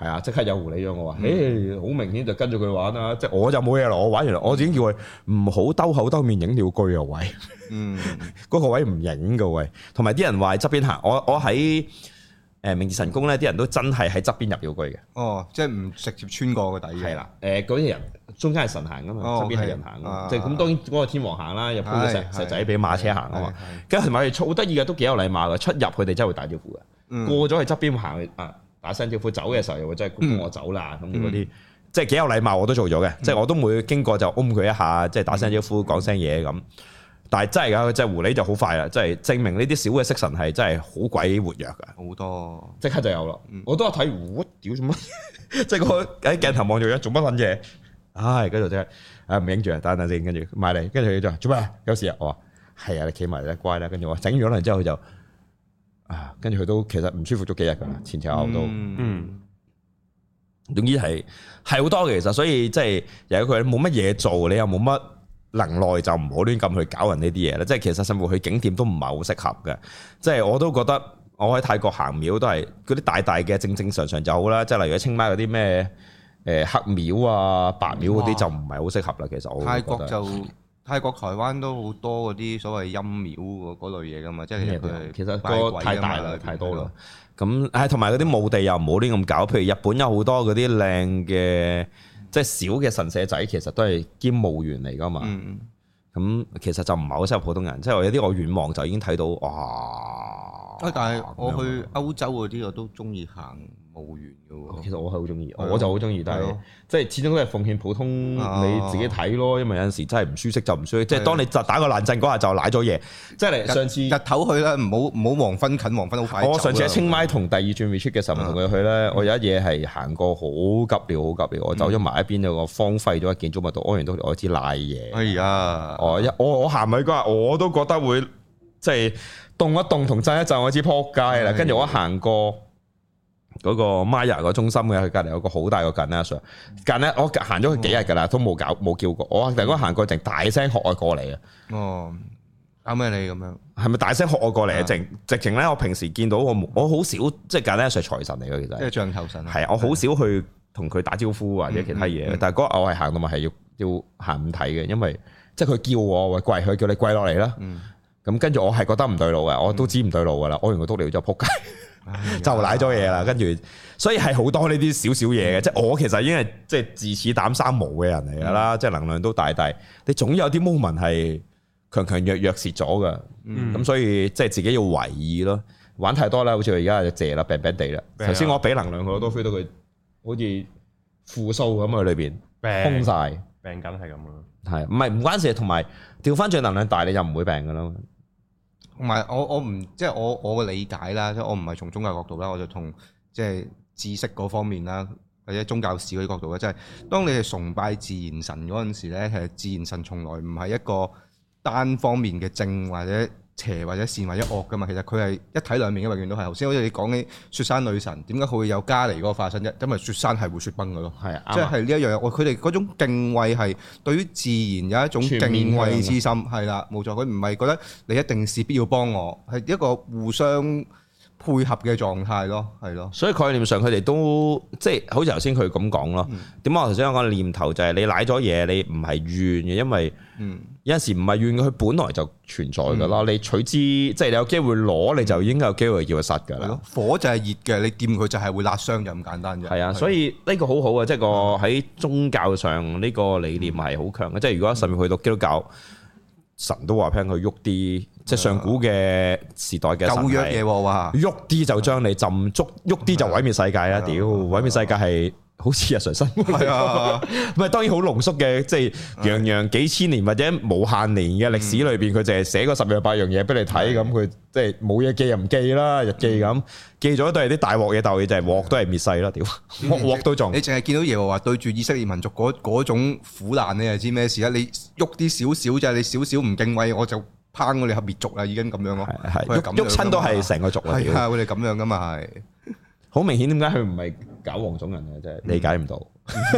係啊，即刻有狐狸咗我話，誒好明顯就跟住佢玩啦，即係我就冇嘢咯，我玩完我已經叫佢唔好兜口兜面影鳥居啊位，嗯，嗰個位唔影嘅位，同埋啲人話喺側邊行，我我喺誒明治神宮咧，啲人都真係喺側邊入鳥居嘅，哦，即係唔直接穿過個底嘅，係啦，誒嗰啲人中間係神行噶嘛，側邊係人行，即係咁當然嗰個天王行啦，又鋪咗石石仔俾馬車行啊嘛，跟住同埋佢哋好得意嘅，都幾有禮貌嘅，出入佢哋真係會打招呼嘅，過咗去側邊行啊。打聲招呼走嘅時候又會真係恭我走啦，咁嗰啲即係幾有禮貌，我都做咗嘅，嗯、即係我都每經過就擁佢一下，即係打聲招呼講聲嘢咁。但係真係㗎，即係狐狸就好快啦，即係證明呢啲小嘅色神係真係好鬼活躍㗎，好多即刻就有啦。嗯、我都有睇，我屌做乜？即係個喺鏡頭望住佢做乜撚嘢？唉，跟住即係啊唔影住啊，等等先，跟住埋嚟，跟住佢就做咩？有事啊？我話係啊，你企埋啦，乖啦。跟住我整完咗之後佢就。啊，跟住佢都其實唔舒服咗幾日噶啦，前前後後都，嗯，總之係係好多嘅其實，所以即係由於佢冇乜嘢做，你又冇乜能耐，就唔好亂咁去搞人呢啲嘢啦。即係其實甚至去景點都唔係好適合嘅。即係我都覺得我喺泰國行廟都係嗰啲大大嘅正正常常就好啦。即係例如清邁嗰啲咩誒黑廟啊、白廟嗰啲就唔係好適合啦。其實我泰國就。泰國、台灣都好多嗰啲所謂陰廟嗰類嘢噶嘛，即係佢其實個太大啦，太多啦。咁誒，同埋嗰啲墓地又唔好亂咁搞。譬如日本有好多嗰啲靚嘅，即係小嘅神社仔，其實都係兼墓園嚟噶嘛。咁、嗯、其實就唔係好適合普通人。即係有啲我遠望就已經睇到哇！但係我去歐洲嗰啲我都中意行墓園嘅喎，其實我係好中意，我就好中意，但係即係始終都係奉獻普通你自己睇咯，因為有陣時真係唔舒適就唔舒適，即係當你就打個冷震嗰下就瀨咗嘢，即係上次日頭去啦，唔好唔好黃昏近黃昏好快。我上次喺清邁同第二轉 retreat 嘅時候同佢去咧，我有一嘢係行過好急尿好急尿，我走咗埋一邊有個荒廢咗嘅建築物度，屙完都我知瀨嘢。哎呀，我一我我行埋嗰下我都覺得會即係動一動同震一震，我知撲街啦。跟住我行過。嗰個 Maya 個中心嘅，佢隔離有個好大個 Ganesha，近咧我行咗佢幾日㗎啦，都冇搞冇叫過。我突然間行過，淨大聲喝我過嚟啊！哦，啱咩你咁樣？係咪大聲喝我過嚟啊？直直情咧，我平時見到我我好少，即係 Ganesha 財神嚟嘅，其實即係象頭神。係啊，我好少去同佢打招呼或者其他嘢，嗯嗯、但係嗰日我係行到咪係要要行唔睇嘅，因為即係佢叫我喂跪，佢叫你跪落嚟啦。咁跟住我係覺得唔對路嘅，我都知唔對路㗎啦，我完個督尿就撲街。就舐咗嘢啦，跟住所以係好多呢啲少少嘢嘅，即係、嗯、我其實已經係即係自恃膽生毛嘅人嚟噶啦，即係、嗯、能量都大大，你總有啲 moment 係強強弱弱蝕咗㗎，咁、嗯、所以即係自己要為意咯。玩太多啦，好似佢而家就謝啦，病病地啦。頭先我俾能量佢，我都 feel 到佢好似負數咁喺裏邊空晒，病緊係咁咯。係唔係唔關事？同埋調翻轉能量大，你就唔會病噶啦。同埋我我唔即係我我嘅理解啦，即係我唔係從宗教角度啦，我就從即係知識嗰方面啦，或者宗教史嗰啲角度咧，即係當你係崇拜自然神嗰陣時咧，其實自然神從來唔係一個單方面嘅正或者邪或者善或者惡噶嘛，其實佢係一體兩面嘅，永遠都係。頭先好似你講起雪山女神，點解佢會有加尼嗰個化身啫？因為雪山係會雪崩嘅咯，係啊，即係呢一樣嘢。我佢哋嗰種敬畏係對於自然有一種敬畏之心，係啦，冇錯。佢唔係覺得你一定是必要幫我，係一個互相配合嘅狀態咯，係咯。所以概念上佢哋都即係好似頭先佢咁講咯。點解、嗯、我頭先講念頭就係你舐咗嘢，你唔係怨嘅，因為有陣時唔係怨嘅，佢本來就存在噶啦。嗯、你取之即係你有機會攞，你就應該有機會叫佢實噶啦。火就係熱嘅，你掂佢就係會辣傷，就咁簡單啫。係啊，所以呢個好好啊，即係個喺宗教上呢個理念係好強嘅。即係如果甚至去到基督教。神都話聽佢喐啲，即係上古嘅時代嘅神係喐啲就將你浸足，喐啲就毀滅世界啊！屌，毀滅世界係好似日常生活，係啊，唔係當然好濃縮嘅，即係樣樣幾千年或者無限年嘅歷史裏邊，佢淨係寫嗰十樣八樣嘢俾你睇，咁佢即係冇嘢記又唔記啦，日記咁記咗都係啲大鑊嘢，但係就係鑊都係滅世啦，屌鑊鑊都仲。你淨係見到耶和華對住以色列民族嗰嗰種苦難，你就知咩事啦？你喐啲少少啫，你少少唔敬畏，我就抨我哋係滅族啦，已經咁樣咯。係係喐喐親都係成個族啦。係啊，佢哋咁樣噶嘛係。好明顯，點解佢唔係搞黃種人嘅？真係理解唔到。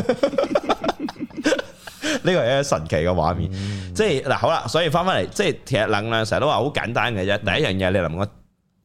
呢個係一個神奇嘅畫面，嗯、即係嗱好啦，所以翻翻嚟，即係其實能量成日都話好簡單嘅啫。第一樣嘢你能夠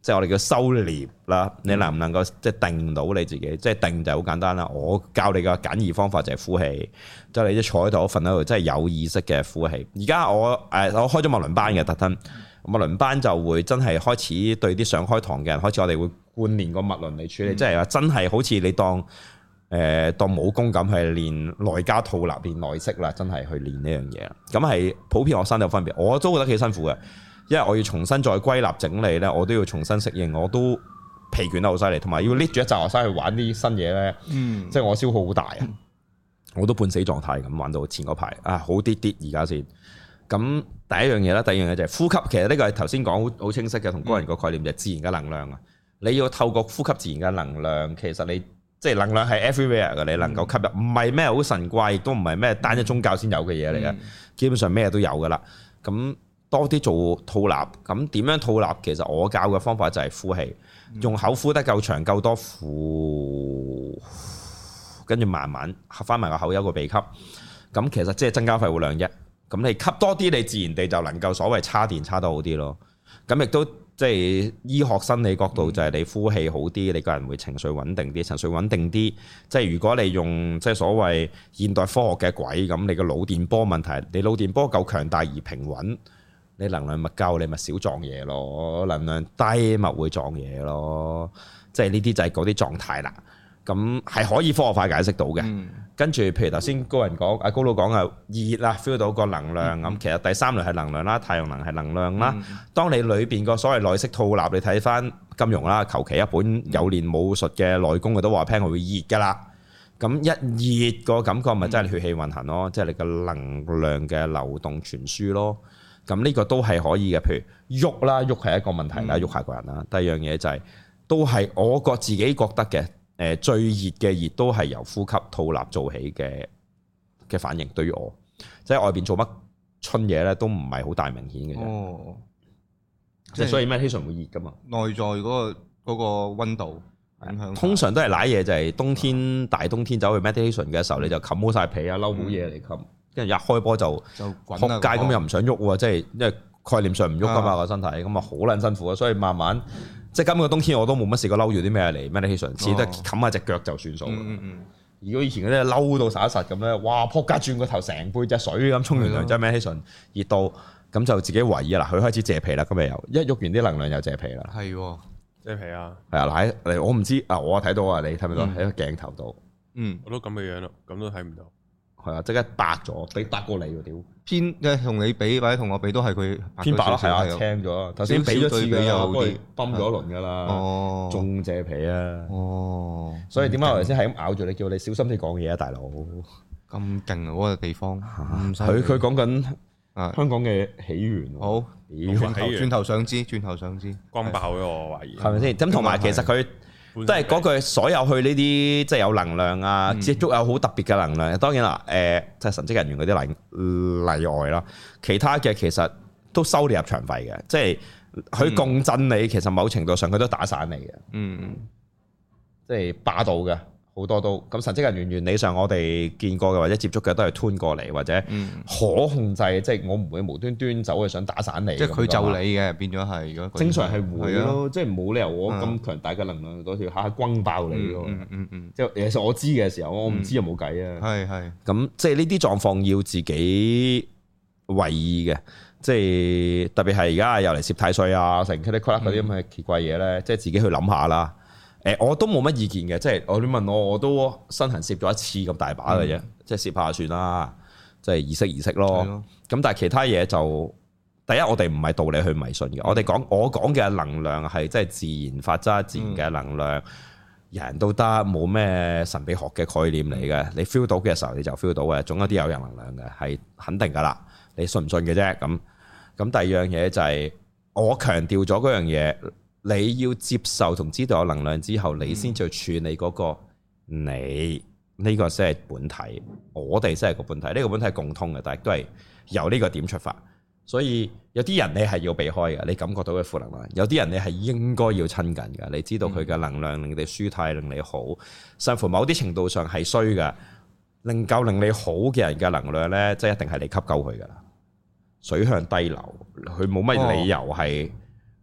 即係我哋叫收斂啦。你能唔能夠即係定到你自己？即係定就好簡單啦。我教你嘅簡易方法就係呼氣，即係你一坐喺度，瞓喺度，即係有意識嘅呼氣。而家我誒我開咗脈輪班嘅特登，脈輪班就會真係開始對啲想開堂嘅人開始，我哋會貫練個脈輪嚟處理，即係話真係好似你當。誒、呃、當武功咁係練內家套納練內息啦，真係去練呢樣嘢啦。咁係普遍學生有分別，我都覺得幾辛苦嘅，因為我要重新再歸納整理咧，我都要重新適應，我都疲倦得好犀利，同埋要 lead 住一紮學生去玩啲新嘢咧，嗯、即係我消耗好大啊，嗯、我都半死狀態咁玩到前嗰排啊，好啲啲而家先。咁第一樣嘢啦，第二樣嘢就係呼吸，其實呢個係頭先講好好清晰嘅，同個人個概念就係自然嘅能量啊。你要透過呼吸自然嘅能量，其實你。即係能量係 everywhere 嘅，你能夠吸入，唔係咩好神怪，亦都唔係咩單一宗教先有嘅嘢嚟嘅，基本上咩都有噶啦。咁多啲做套納，咁點樣套納？其實我教嘅方法就係呼氣，用口呼得夠長夠多，呼，跟住慢慢合翻埋個口，有個鼻吸。咁其實即係增加肺活量啫。咁你吸多啲，你自然地就能夠所謂叉電叉得好啲咯。咁亦都。即係醫學生理角度就係你呼氣好啲，你個人會情緒穩定啲，情緒穩定啲。即係如果你用即係所謂現代科學嘅軌咁，你個腦電波問題，你腦電波夠強大而平穩，你能量咪夠，你咪少撞嘢咯。能量低咪會撞嘢咯。即係呢啲就係嗰啲狀態啦。咁係可以科學化解釋到嘅。嗯、跟住譬如頭先高人講，阿高佬講啊，熱啦 feel 到個能量咁，嗯、其實第三類係能量啦，太陽能係能量啦。嗯、當你裏邊個所謂內息套納，你睇翻金融啦，求其一本有練武術嘅內功，佢都話聽佢會熱噶啦。咁一熱個感覺咪真係血氣運行咯，即係、嗯、你個能量嘅流動傳輸咯。咁呢個都係可以嘅。譬如喐啦，喐係一個問題啦，喐、嗯、下個人啦。第二樣嘢就係、是、都係我覺自己覺得嘅。誒最熱嘅熱都係由呼吸套納做起嘅嘅反應，對於我，即係外邊做乜春嘢咧，都唔係好大明顯嘅啫。哦，即係所以 meditation 會熱噶嘛？內在嗰、嗰個嗰個溫度影響。通常都係瀨嘢，就係冬天、嗯、大冬天走去 meditation 嘅時候，你就冚好晒被啊，嬲好嘢嚟冚，跟住一開波就就撲街咁，又唔想喐喎，即係因為概念上唔喐噶嘛個身體，咁啊好撚辛苦啊，所以慢慢。即係今個冬天我都冇乜試過嬲住啲咩嚟 meditation，只得冚下隻腳就算數。嗯嗯、如果以前嗰啲嬲到實一實咁咧，哇！撲街轉個頭成背隻水咁沖完涼，即係 meditation 熱到咁就自己懷疑啦。佢開始謝皮啦，咁咪又一喐完啲能量又謝皮啦。係謝皮啊！係啊，嗱，我唔知啊，我睇到啊，你睇唔睇到喺個鏡頭度？嗯，我都咁嘅樣咯，咁都睇唔到。係啊，即刻白咗，比白過你喎屌！偏即係同你比或者同我比都係佢偏白咯，係啊，青咗。頭先比咗次佢又崩咗一輪㗎啦，哦，仲謝皮啊！哦，所以點解我頭先係咁咬住你，叫你小心啲講嘢啊，大佬！咁勁啊！嗰個地方，佢佢講緊香港嘅起源。好，轉頭轉頭想知，轉頭想知，光爆咗我懷疑係咪先？咁同埋其實佢。都係嗰句，所有去呢啲即係有能量啊，接觸有好特別嘅能量。當然啦，誒即係神職人員嗰啲例例外啦。其他嘅其實都收你入場費嘅，即係佢共振你，其實某程度上佢都打散你嘅。嗯，即係霸道嘅好多都。咁神職人員原理上我哋見過嘅或者接觸嘅都係吞過嚟或者可控制，即係我唔會無端端走去想打散你。即係佢就你嘅變咗係，如果正常係會咯，即係冇理由我咁強大嘅能量嗰條下下轟爆你咯。嗯嗯嗯，即係其實我知嘅時候，我唔知又冇計啊。係係。咁即係呢啲狀況要自己為意嘅，即係特別係而家又嚟攝太歲啊，成 cut cut 嗰啲咁嘅奇怪嘢咧，即係自己去諗下啦。誒，我都冇乜意見嘅，即係我你問我，我都身痕攝咗一次咁大把嘅啫，嗯、即係攝下算啦，即係儀式儀式咯。咁的但係其他嘢就，第一我哋唔係道理去迷信嘅，嗯、我哋講我講嘅能量係即係自然法則、自然嘅能量，嗯、人都得，冇咩神秘學嘅概念嚟嘅。嗯、你 feel 到嘅時候你就 feel 到嘅，總有啲有人能量嘅係肯定噶啦。你信唔信嘅啫？咁咁第二樣嘢就係、是、我強調咗嗰樣嘢。你要接受同知道有能量之後，你先至去處理嗰個你呢個先係本體，我哋先係個本體。呢個本體係共通嘅，但係都係由呢個點出發。所以有啲人你係要避開嘅，你感覺到嘅負能量；有啲人你係應該要親近嘅，你知道佢嘅能量令你舒泰，令你好。甚至乎某啲程度上係衰嘅，令夠令你好嘅人嘅能量呢，即係一定係你吸夠佢噶啦。水向低流，佢冇乜理由係。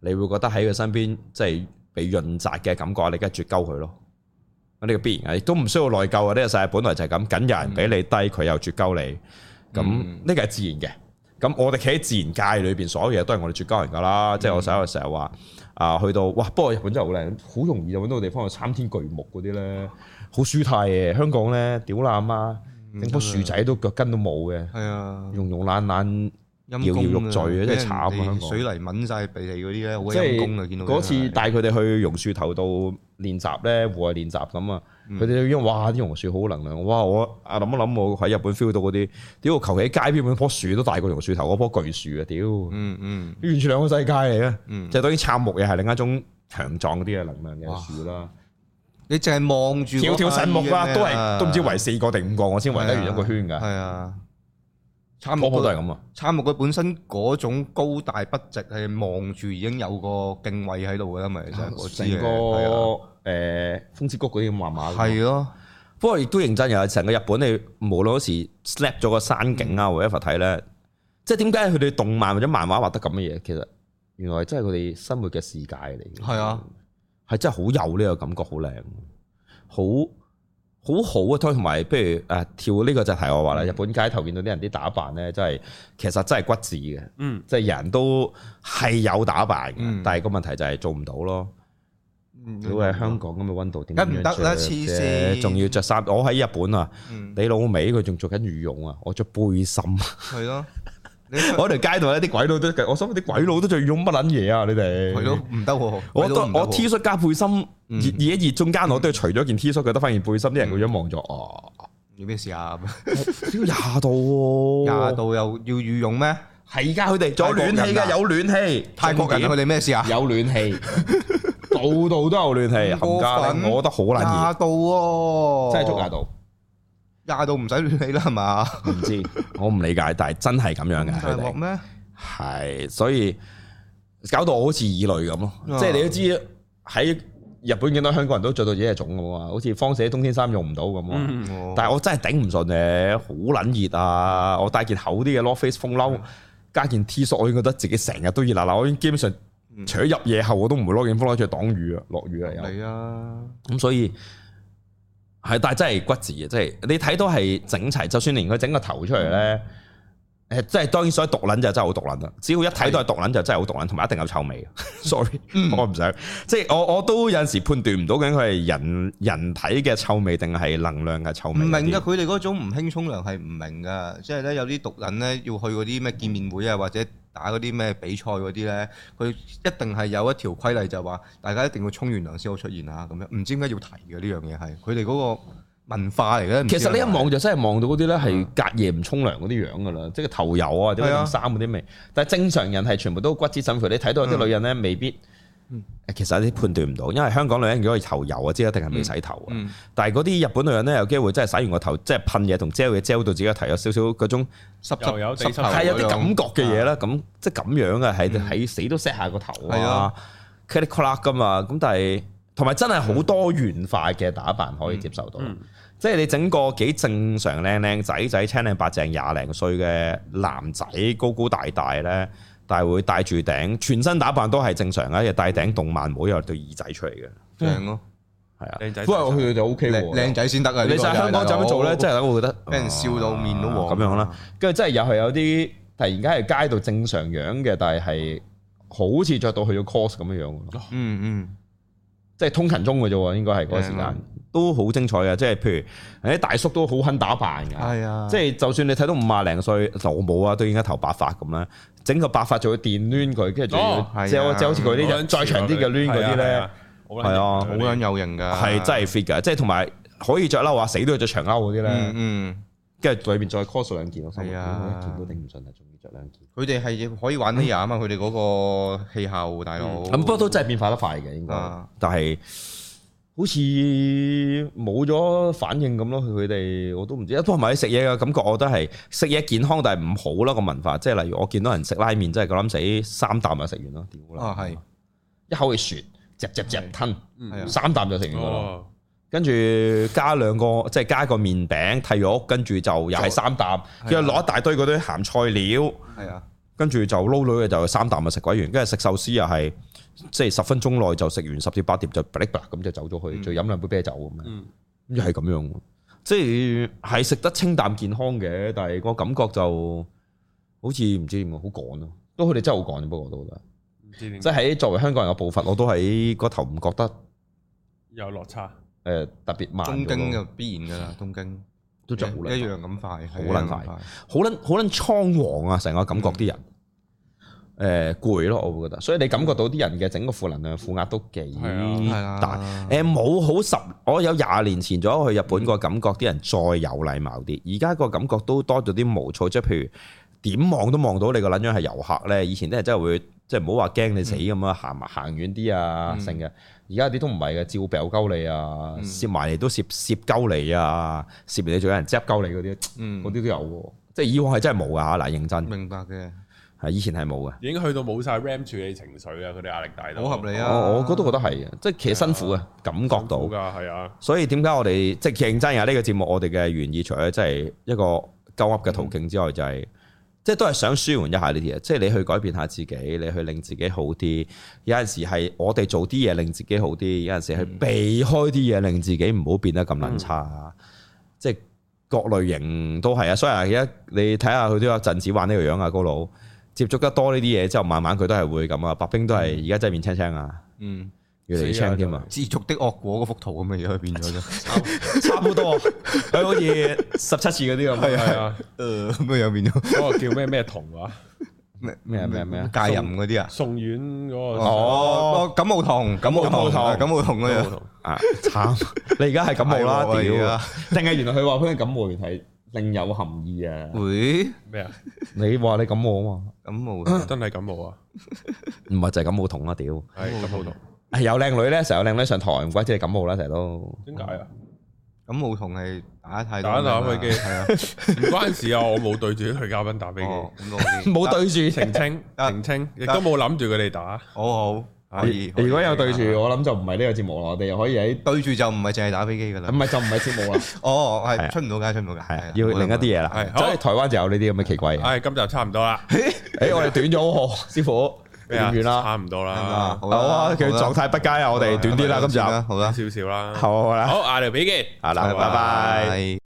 你會覺得喺佢身邊即係被潤澤嘅感覺，你梗係絕鳩佢咯。呢個必然嘅，亦都唔需要內疚啊！呢個世界本來就係咁，梗有人比你低，佢又絕鳩你，咁呢個係自然嘅。咁我哋企喺自然界裏邊，所有嘢都係我哋絕鳩人噶啦。即係我成日成日話啊，去到哇，不過日本真係好靚，好容易就揾到個地方去參天巨木嗰啲咧，好舒泰嘅。香港咧屌啦阿媽，整棵樹仔都腳跟都冇嘅，係啊，溶溶爛爛。搖搖欲墜啊！真係慘啊！香港水泥抿曬鼻涕嗰啲咧，好陰功啊！見到嗰次帶佢哋去榕樹頭度練習咧，戶外練習咁啊，佢哋已經哇啲榕樹好能量，哇！我啊諗一諗，我喺日本 feel 到嗰啲，屌求其喺街邊嗰棵樹都大過榕樹頭嗰棵巨樹啊！屌，嗯嗯，完全兩個世界嚟嘅，就當然杉木又係另一種強壯啲嘅能量嘅樹啦。你淨係望住條條神木啦，都係都唔知圍四個定五個，我先圍得完一個圈㗎。係啊。杉木都係咁啊！杉木佢本身嗰種高大筆直，係望住已經有個敬畏喺度嘅啦，咪就係成個誒風之谷嗰啲咁麻麻。係咯，不過亦都認真嘅，成個日本你無論嗰時 slap 咗個山景啊，或者一睇咧，即係點解佢哋動漫或者漫畫畫得咁嘅嘢？其實原來真係佢哋生活嘅世界嚟嘅。係啊，係真係好有呢個感覺，好靚，好。好好啊，同埋，不如誒跳呢個就題我話啦。日本街頭見到啲人啲打扮咧，真係其實真係骨子嘅，嗯，即係人都係有打扮嘅，嗯、但係個問題就係做唔到咯。如果喺香港咁嘅溫度，點解唔得啦？黐線，仲要着衫。我喺日本啊，嗯、你老味佢仲着緊羽絨啊，我着背心。係咯。我喺條街度咧，啲鬼佬都，我想啲鬼佬都着羽絨乜撚嘢啊！你哋係咯，唔得。我得我 T 恤加背心，熱熱一熱中間，我都係除咗件 T 恤，佢得翻件背心，啲人個樣望咗，哦，要咩事啊？廿度，廿度又要羽絨咩？係而家佢哋仲有暖氣噶，有暖氣。泰國人佢哋咩事啊？有暖氣，度度都有暖氣。冚家拎，我覺得好撚熱。廿度，真係足廿度。廿度唔使暖氣啦，係嘛？唔知，我唔理解，但係真係咁樣嘅。大鑊咩？係，所以搞到我好似異類咁咯。啊、即係你都知喺日本見到香港人都着到自己嘅種咁啊，好似方寫冬天衫用唔到咁啊。嗯哦、但係我真係頂唔順嘅，好撚熱啊！我帶件厚啲嘅 North Face 風褸，加件 T 恤，我已經覺得自己成日都熱辣辣。我已經基本上除咗入夜後，我都唔會攞件風褸出去擋雨啊，落雨啊有。係啊，咁所以。係，但係真係骨子嘅，即係你睇到係整齊，就算連佢整個頭出嚟咧，誒，即係當然所以毒撚就真係好毒撚啦。只要一睇到係毒撚就真係好毒撚，同埋一定有臭味。Sorry，我唔想，即係我我都有陣時判斷唔到究竟佢係人人體嘅臭味定係能量嘅臭味。唔明㗎，佢哋嗰種唔興沖涼係唔明㗎，即係咧有啲毒撚咧要去嗰啲咩見面會啊或者。打嗰啲咩比賽嗰啲咧，佢一定係有一條規例，就話大家一定要沖完涼先好出現啊咁樣。唔知點解要提嘅呢樣嘢係佢哋嗰個文化嚟嘅。其實你一望就真係望到嗰啲咧係隔夜唔沖涼嗰啲樣噶啦，即係頭油啊，或者件衫嗰啲味。但係正常人係全部都骨子審佢。你睇到有啲女人咧未必。嗯、其實有啲判斷唔到，因為香港女人如果係頭油啊，即係一定係未洗頭啊。嗯嗯、但係嗰啲日本女人咧，有機會真係洗完個頭，即係噴嘢同 gel 嘢 gel 到自己個頭有少少嗰種濕濕有濕係有啲感覺嘅嘢啦。咁即係咁樣啊，係喺死都 set 下個頭啊 cut cut 噶嘛。咁但係同埋真係好多元化嘅打扮可以接受到，嗯嗯、即係你整個幾正常靚靚仔仔青靚白淨廿零歲嘅男仔高高大大咧。但係會戴住頂，全身打扮都係正常嘅，又戴頂動漫帽，又對耳仔出嚟嘅，正咯，係啊，靚仔。不過佢哋就 O K 喎，靚仔先得啊！你喺香港咁做咧，真係我覺得俾人笑到面都黃咁樣啦。跟住真係又係有啲突然間係街度正常樣嘅，但係係好似着到去咗 cos 咁樣樣。嗯嗯，即係通勤中嘅啫喎，應該係嗰個時間都好精彩嘅。即係譬如啲大叔都好肯打扮嘅，係啊，即係就算你睇到五廿零歲老母啊，都應該頭白髮咁啦。整個白髮就會電攣佢，跟住仲要即係好似佢啲再長啲嘅攣嗰啲咧，係啊，好撚有型㗎，係真係 fit 㗎，即係同埋可以着褸啊，死都要着長褸嗰啲咧，嗯，跟住裏邊再 cos 兩件咯，係啊，一件都頂唔順啊，仲要着兩件。佢哋係可以玩呢樣啊嘛，佢哋嗰個氣候大佬，咁不過都真係變化得快嘅應該，但係好似冇咗反應咁咯。佢哋我都唔知，不過埋啲食嘢嘅感覺，我覺得係食嘢健康，但係唔好咯個文化。即係例如我見到人食拉麵，真係夠膽死三啖就食完咯，屌啦！啊係，一口氣啜，嚼嚼嚼吞，三啖就食完咯。跟住加兩個，即係加個麵餅替肉，跟住就又係三啖，跟住落一大堆嗰啲鹹菜料。係啊， 跟住就撈女嘅就三啖就食鬼完，跟住食壽司又係即係十分鐘內就食完十至八碟就噼哩啪啦咁就走咗去，再飲兩杯啤酒咁樣，又係咁樣，即係係食得清淡健康嘅，但係個感覺就好似唔知點好趕咯，都佢哋真係好趕，不過我都覺得，即係喺作為香港人嘅步伐，我都喺個頭唔覺得有落差， 誒特別慢。 東京就必然噶啦，東京都就一樣咁快， 好撚快，好撚好撚倉皇啊！成個感覺啲人。誒攰咯，我會覺得，所以你感覺到啲人嘅整個負能量、負壓都幾大。誒冇好十，我有廿年前咗去日本個感覺，啲人再有禮貌啲。而家個感覺都多咗啲毛躁，即係譬如點望都望到你個撚樣係遊客咧。以前啲人真係會即係唔好話驚你死咁啊，行埋行遠啲啊，成嘅。而家啲都唔係嘅，照掟鳩你啊，攝埋嚟都攝攝鳩你啊，攝完你仲有人執鳩你嗰啲，嗰啲都有喎。即係以往係真係冇㗎嚇，嗱認真。 明白嘅。 係以前係冇嘅， 已經去到冇晒 RAM 處理情緒啊！佢哋壓力大到好合理啊！ 我我都覺得係嘅，即係其實辛苦嘅，感覺到。 㗎係啊！ 所以點解我哋即係認真啊？呢個節目我哋嘅原意，除咗即係一個鳩噏嘅途徑之外，就係即係都係想舒緩一下呢啲嘢。即係你去改變下自己，你去令自己好啲。有陣時係我哋做啲嘢令自己好啲，有陣時係避開啲嘢令自己唔好變得咁撚差。即係各類型都係啊！所以而家你睇下佢都有陣子玩呢個樣啊，高佬。接觸得多呢啲嘢之後，慢慢佢都係會咁啊！白兵都係而家真係面青青啊，嗯，越嚟越青添啊！ 知足的惡果嗰幅圖咁嘅嘢，佢變咗啫， 差唔多，佢好似十七次嗰啲咁， 係啊，誒咁嘅樣變咗。 嗰個叫咩咩童話？ 咩咩咩咩戒淫嗰啲啊？ 宋苑嗰個哦，感冒童，感冒童，感冒童嗰樣啊！慘，你而家係感冒啦，屌！定係原來佢話佢嘅感冒原係另有含義啊！ 會咩啊？ 你話你感冒啊嘛？ 感冒真係感冒啊？ 唔係就係感冒痛啊！屌， 係感冒痛。 係有靚女咧，成日有靚女上台，唔怪之係感冒啦，成日都。 點解啊？ 感冒同係打太多打打飛機係啊，唔關事啊！我冇對住啲女嘉賓打飛機， 冇對住澄清澄清，亦都冇諗住佢哋打。 好好。可以， 如果有對住，我諗就唔係呢個節目啦。我哋又可以喺對住就唔係淨係打飛機噶啦， 唔係就唔係節目啦。 哦，係出唔到街，出唔到街，係要另一啲嘢啦。係，所以台灣就有呢啲咁嘅奇怪嘢。 係，今集差唔多啦。 誒，我哋短咗喎，師傅短完啦， 差唔多啦。 好啊，佢狀態不佳啊，我哋短啲啦，今集好啦， 少少啦。 好啦， 好，下條片見。 好啦，拜拜。